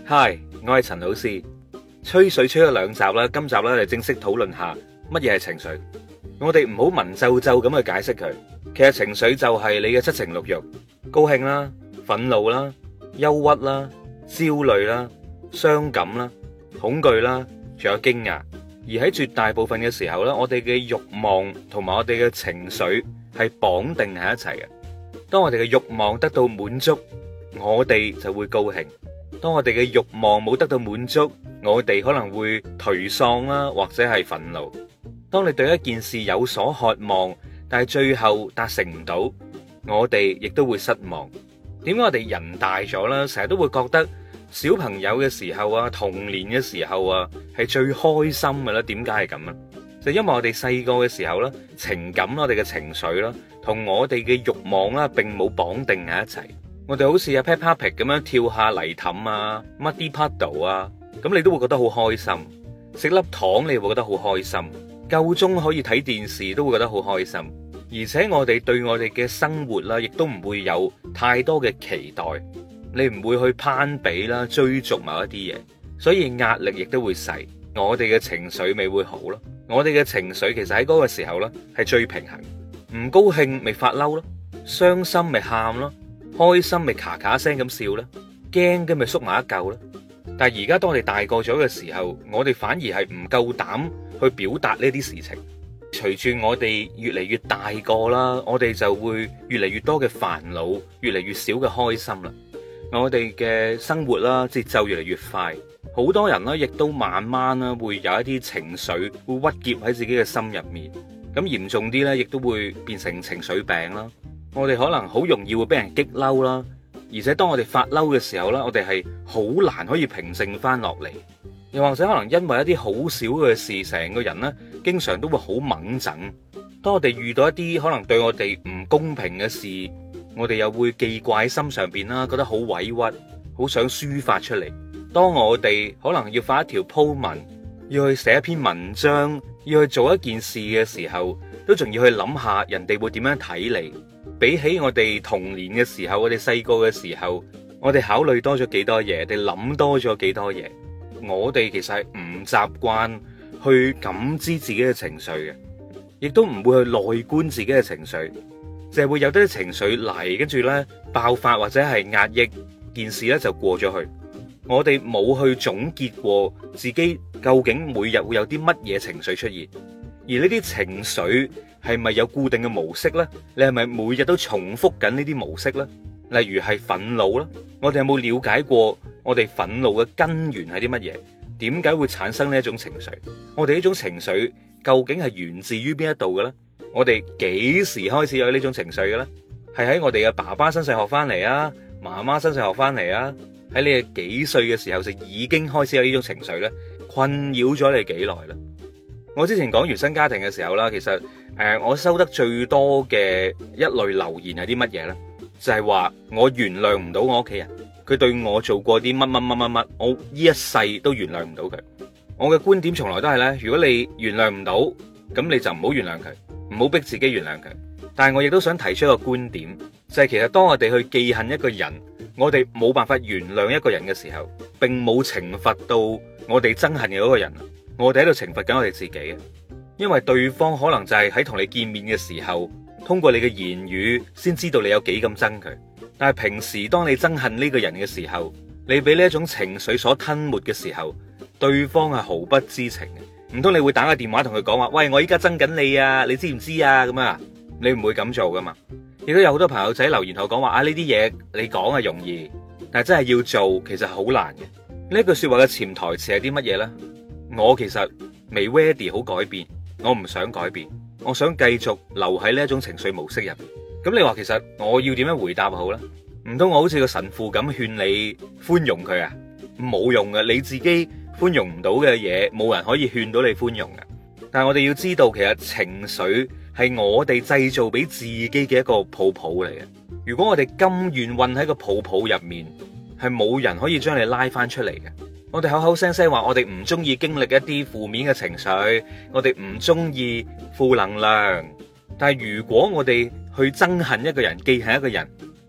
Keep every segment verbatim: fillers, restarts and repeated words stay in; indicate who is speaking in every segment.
Speaker 1: 嗨，我係陳老師。吹水吹咗兩集啦，今集咧就正式討論下乜嘢係情緒。我哋唔好文縐縐咁去解釋佢。其實情緒就係你嘅七情六欲，高興啦、憤怒啦、憂鬱啦、焦慮啦、傷感啦、恐懼啦，仲有驚訝。而喺絕大部分嘅時候咧，我哋嘅欲望同埋我哋嘅情緒係綁定喺一齊嘅。當我哋嘅欲望得到滿足，我哋就會高興。當我哋嘅欲望冇得到滿足，我哋可能會頹喪啦，或者係憤怒。當你對一件事有所渴望，但係最後達成唔到，我哋亦都會失望。點解我哋人大咗啦，成日都會覺得小朋友嘅時候啊，童年嘅時候啊，係最開心嘅啦？點解係咁啊？就因為我哋細個嘅時候啦，情感我哋嘅情緒啦，同我哋嘅欲望啦，並冇綁定喺一齊。我哋好似阿 Peppa Pig 咁樣跳下泥凼啊，Muddy Puddle 啊，咁你都會覺得好開心。食粒糖你會覺得好開心，夠鐘可以睇電視都會覺得好開心。而且我哋對我哋嘅生活啦，亦都唔會有太多嘅期待，你唔會去攀比啦，追逐某一啲嘢，所以壓力亦都會細。我哋嘅情緒咪會好咯。我哋嘅情緒其實喺嗰個時候咧係最平衡。唔高興咪發嬲咯，傷心咪喊咯。開心咪咔咔聲咁笑啦，驚嘅咪縮埋一嚿啦。但係而家當我哋大個咗嘅時候，我哋反而係唔夠膽去表達呢啲事情。隨住我哋越嚟越大個啦，我哋就會越嚟越多嘅煩惱，越嚟越少嘅開心啦。我哋嘅生活啦，節奏越嚟越快，好多人呢亦都慢慢啦會有一啲情緒會鬱結喺自己嘅心入面。咁嚴重啲呢，亦都會變成情緒病啦。我哋可能好容易會俾人激嬲啦，而且當我哋發嬲嘅時候咧，我哋係好難可以平靜翻落嚟。又或者可能因為一啲好少嘅事，成個人咧經常都會好掹整。當我哋遇到一啲可能對我哋唔公平嘅事，我哋又會記掛喺心上邊啦，覺得好委屈，好想抒發出嚟。當我哋可能要發一條鋪文，要去寫一篇文章，要去做一件事嘅時候，都仲要去諗下人哋會點樣睇你。比起我哋童年嘅時候，我哋細個嘅時候，我哋考慮多咗幾多嘢，我哋諗多咗幾多嘢。我哋其實係唔習慣去感知自己嘅情緒嘅，亦都唔會去內觀自己嘅情緒，就係會有啲情緒嚟，跟住呢爆發或者係壓抑，件事呢就過咗去。我哋冇去總結過自己究竟每日會有啲乜嘢情緒出現，而呢啲情緒係咪有固定嘅模式呢？你係咪每日都重複緊呢啲模式呢？例如係憤怒啦，我哋有冇了解過我哋憤怒嘅根源係啲乜嘢？點解會產生呢一種情緒？我哋呢種情緒究竟係源自於邊一度嘅咧？我哋幾時開始有呢種情緒嘅咧？係喺我哋嘅爸爸身上學翻嚟啊，媽媽身上學翻嚟啊？喺你嘅幾歲嘅時候就已經開始有呢種情緒咧？困擾咗你幾耐啦？我之前講原生家庭嘅時候啦，其實誒、呃，我收得最多嘅一類留言係啲乜嘢呢？就係、是、話我原諒唔到我屋企人，佢對我做過啲乜乜乜乜乜，我呢一世都原諒唔到佢。我嘅觀點從來都係呢：如果你原諒唔到，咁你就唔好原諒佢，唔好逼自己原諒佢。但係我亦都想提出一個觀點，就係、是、其實當我哋去記恨一個人，我哋冇辦法原諒一個人嘅時候，並冇懲罰到我哋憎恨嘅嗰個人。我哋喺度懲罰緊我哋自己啊，因為對方可能就係喺同你見面嘅時候，通過你嘅言語先知道你有幾咁憎佢。但係平時當你憎恨呢個人嘅時候，你俾呢一種情緒所吞沒嘅時候，對方係毫不知情嘅。唔通你會打個電話同佢講話，喂，我依家憎緊你啊，你知唔知啊？咁啊，你唔會咁做噶嘛。亦都有好多朋友仔留言同我講話啊，呢啲嘢你講係容易，但係真係要做其實好難嘅。呢句說話嘅潛台詞係啲乜嘢呢？我其實未 ready 好改變，我唔想改變，我想繼續留喺呢一種情緒模式入面。咁你話其實我要點樣回答好呢？唔通我好似個神父咁勸你寬容佢啊？冇用嘅，你自己寬容唔到嘅嘢，冇人可以勸到你寬容嘅。但係我哋要知道，其實情緒係我哋製造俾自己嘅一個泡泡嚟嘅。如果我哋甘願混喺個泡泡入面，係冇人可以將你拉翻出嚟嘅。我哋口口聲聲話我哋唔中意經歷一啲負面嘅情緒，我哋唔中意負能量。但係如果我哋去憎恨一個人，記恨一個人，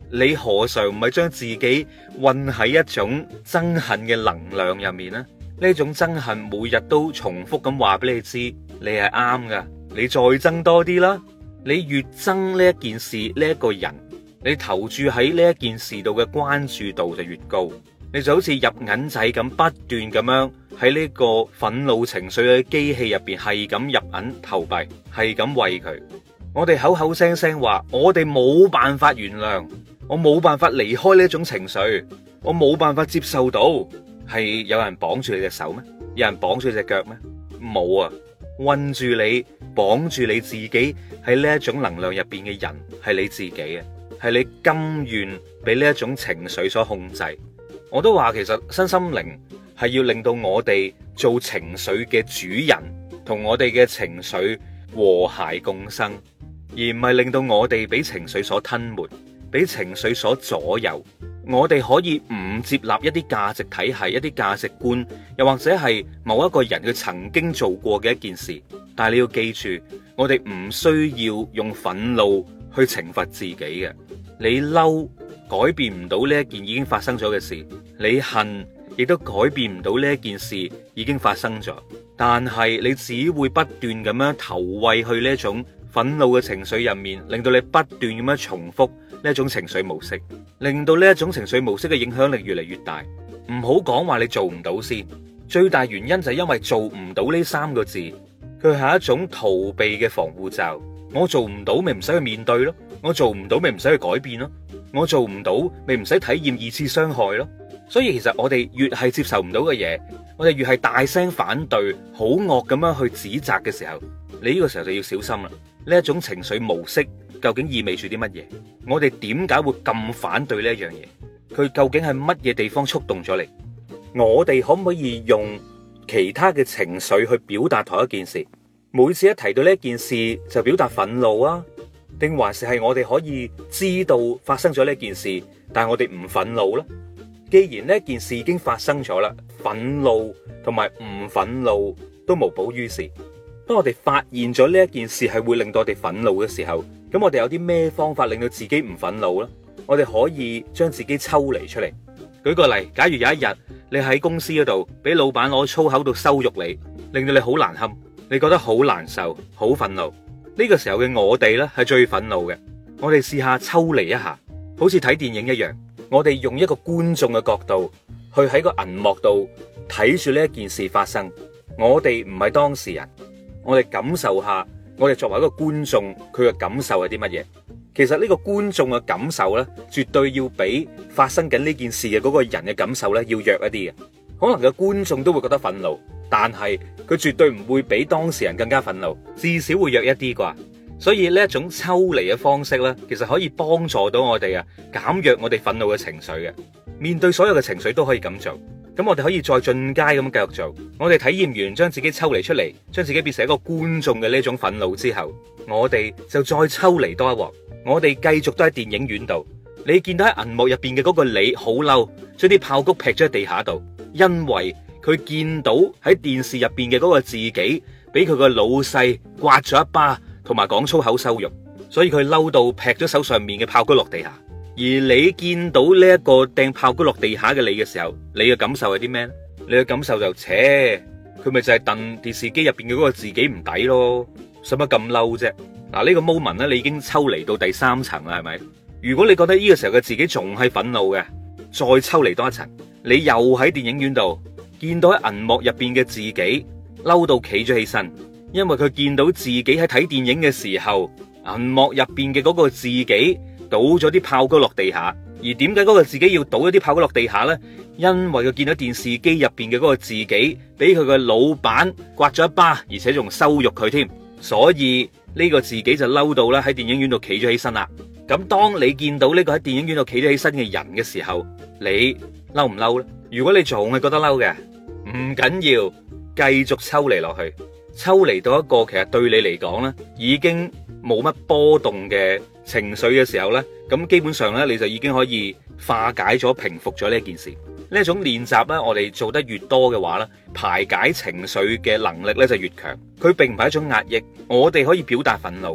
Speaker 1: 你何嘗唔係將自己困喺一種憎恨嘅能量入面呢？呢種憎恨每日都重複咁話俾你知，你係啱噶，你再憎多啲啦。你越憎呢一件事，呢一個人，你投注喺呢一件事度嘅關注度就越高。你就好似入銀仔咁，不斷咁樣喺呢個憤怒情緒嘅機器入邊係咁入銀投幣，係咁餵佢。我哋口口聲聲話我哋冇辦法原諒，我冇辦法離開呢種情緒，我冇辦法接受到。係有人綁住你隻手咩？有人綁住你隻腳咩？冇啊！困住你，綁住你自己喺呢一種能量入邊嘅人係你自己啊，係你甘願俾呢一種情緒所控制。我都話其實身心靈係要令到我哋做情緒嘅主人，同我哋嘅情緒和諧共生，而唔係令到我哋俾情緒所吞沒，俾情緒所左右。我哋可以唔接納一啲價值體系、一啲價值觀，又或者係某一個人佢曾經做過嘅一件事，但係你要記住，我哋唔需要用憤怒去懲罰自己嘅。你嬲改變唔到呢一件已經發生咗嘅事，你恨亦都改變唔到呢一件事已經發生咗。但係你只會不斷咁樣投餵去呢一種憤怒嘅情緒入面，令到你不斷咁樣重複呢一種情緒模式，令到呢一種情緒模式嘅影響力越嚟越大。唔好講話你做唔到先，最大原因就係因為做唔到呢三個字，佢係一種逃避嘅防護罩。我做唔到咪唔使去面對咯，我做唔到咪唔使去改變咯，我做唔到咪唔使體驗二次傷害咯。所以其實我哋越係接受唔到嘅嘢，我哋越係大聲反對，好惡咁樣去指責嘅時候，你呢個時候就要小心啦。呢一種情緒模式究竟意味住啲乜嘢？我哋點解會咁反對呢一樣嘢？佢究竟係乜嘢地方觸動咗你？我哋可唔可以用其他嘅情緒去表達同一件事？每次一提到呢一件事就表達憤怒啊？定還是係我哋可以知道發生咗呢件事，但係我哋唔憤怒呢？既然呢件事已經發生咗啦，憤怒同埋唔憤怒都無補於事。當我哋發現咗呢一件事係會令到我哋憤怒嘅時候，咁我哋有啲咩方法令到自己唔憤怒呢？我哋可以將自己抽離出嚟。舉個例，假如有一日你喺公司嗰度俾老闆攞粗口度羞辱你，令到你好難堪，你覺得好難受、好憤怒。呢個時候嘅我哋呢係最憤怒嘅。我哋試下抽離一下，好似睇電影一樣，我哋用一個觀眾嘅角度去喺個銀幕度睇住呢一件事發生。我哋唔係當事人，我哋感受下，我哋作為一個觀眾，佢嘅感受係啲乜嘢？其實呢個觀眾嘅感受呢，絕對要比發生緊呢件事嘅嗰個人嘅感受呢要弱一啲嘅。可能個觀眾都會覺得憤怒，但係佢絕對唔會比當事人更加憤怒，至少會弱一啲啩。所以呢一種抽離嘅方式呢，其實可以幫助到我哋啊，減弱我哋憤怒嘅情緒嘅。面對所有嘅情緒都可以咁做。咁我哋可以再進階咁繼續做。我哋體驗完將自己抽離出嚟，將自己變成一個觀眾嘅呢種憤怒之後，我哋就再抽離多一鑊。我哋繼續都喺電影院度，你見到喺銀幕入邊嘅嗰個你好嬲，將啲爆谷劈咗喺地下度，因為佢見到喺電視入邊嘅嗰個自己俾佢個老細刮咗一巴，同埋講粗口羞辱，所以佢嬲到劈咗手上面嘅爆谷落地下。而你見到呢一個掟炮谷落地下嘅你嘅時候，你嘅感受係啲咩咧？你嘅感受就扯，佢咪就係戥電視機入邊嘅嗰個自己唔抵咯，使乜咁嬲啫？嗱，呢個 moment 咧，你已經抽離到第三層啦，係咪？如果你覺得呢個時候嘅自己仲係憤怒嘅，再抽離多一層，你又喺電影院度見到喺銀幕入邊嘅自己嬲到企咗起身，因為佢見到自己喺睇電影嘅時候，銀幕入邊嘅嗰個自己倒咗啲炮谷落地下。而點解嗰個自己要倒一啲炮谷落地下呢？因為佢見到電視機入邊嘅嗰個自己俾佢嘅老闆刮咗一巴，而且仲羞辱佢添，所以呢個自己就嬲到啦，喺電影院度企咗起身啦。咁當你見到呢個喺電影院度企咗起身嘅人嘅時候，你嬲唔嬲呢？如果你仲係覺得嬲嘅，唔緊要，繼續抽離落去，抽離到一個其實對你嚟講呢已經冇乜波動嘅情緒嘅時候呢，咁基本上呢，你就已經可以化解咗、平復咗呢件事。呢一種練習呢，我哋做得越多嘅話呢，排解情緒嘅能力呢就越強。佢並唔係一種壓抑，我哋可以表達憤怒，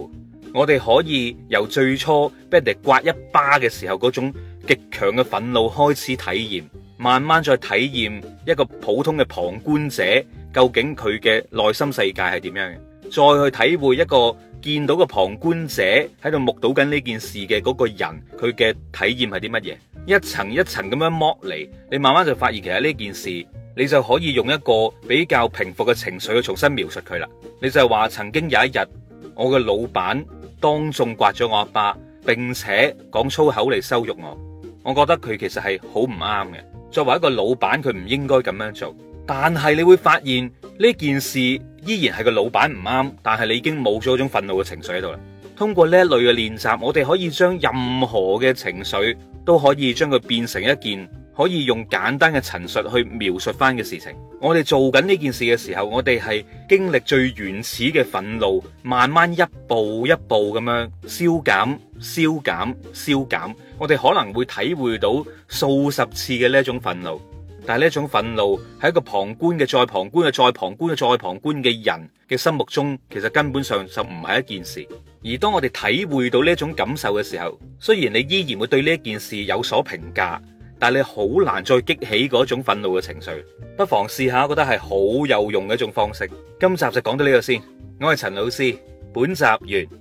Speaker 1: 我哋可以由最初俾人哋刮一巴嘅時候嗰種極強嘅憤怒開始體驗，慢慢再體驗一個普通嘅旁觀者究竟佢嘅內心世界係點樣嘅，再去體會一個見到個旁觀者喺度目睹緊呢件事嘅嗰個人，佢嘅體驗係啲乜嘢，一層一層咁樣剝離，你慢慢就發現其實呢件事，你就可以用一個比較平復嘅情緒去重新描述佢啦。你就係話曾經有一日，我嘅老闆當眾刮咗我一巴，並且講粗口嚟羞辱我，我覺得佢其實係好唔啱嘅。作為一個老闆，佢唔應該咁樣做。但係你會發現呢件事依然係個老闆唔啱，但係你已經冇咗嗰種憤怒嘅情緒喺度啦。通過呢一類嘅練習，我哋可以將任何嘅情緒都可以將佢變成一件可以用簡單嘅陳述去描述翻嘅事情。我哋做緊呢件事嘅時候，我哋係經歷最原始嘅憤怒，慢慢一步一步咁樣消減、消減、消減。我哋可能會體會到數十次嘅呢一種憤怒。但係呢一種憤怒喺一個旁觀嘅再旁觀嘅再旁觀嘅再旁觀嘅人嘅心目中，其實根本上就唔係一件事。而當我哋體會到呢一種感受嘅時候，雖然你依然會對呢一件事有所評價，但係你好難再激起嗰種憤怒嘅情緒。不妨試下，覺得係好有用嘅一種方式。今集就講到呢度先，我係陳老師，本集完。